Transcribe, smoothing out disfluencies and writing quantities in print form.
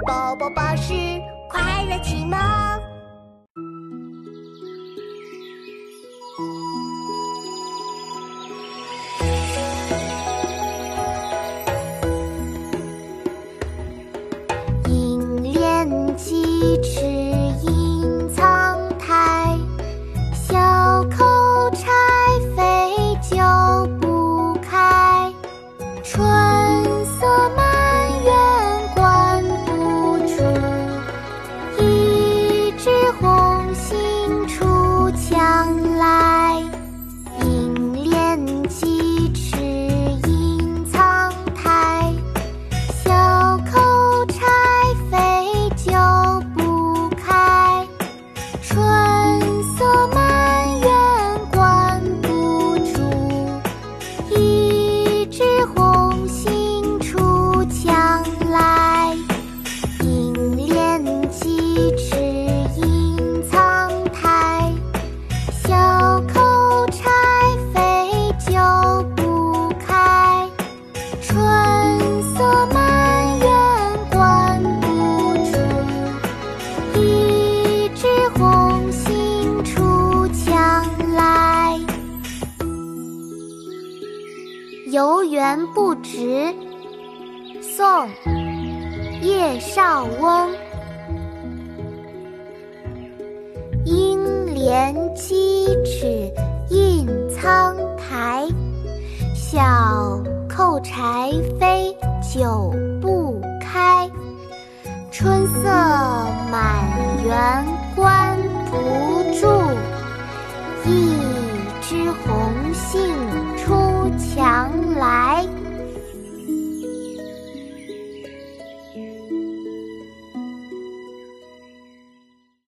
宝宝巴士快乐启蒙。银链几尺隐藏台，小口柴扉久不开。春色满园关不住，一枝红杏出墙来。银链几尺隐藏台，小口柴扉久不开。春色满园关不住，一枝红杏出墙来。银链几尺隐藏台，小口柴扉久不开。春色满园关不住，一枝红杏出墙来。游园不值，宋·叶绍翁。银链几尺隐藏台，小口柴扉久不开。春色满园关不住，一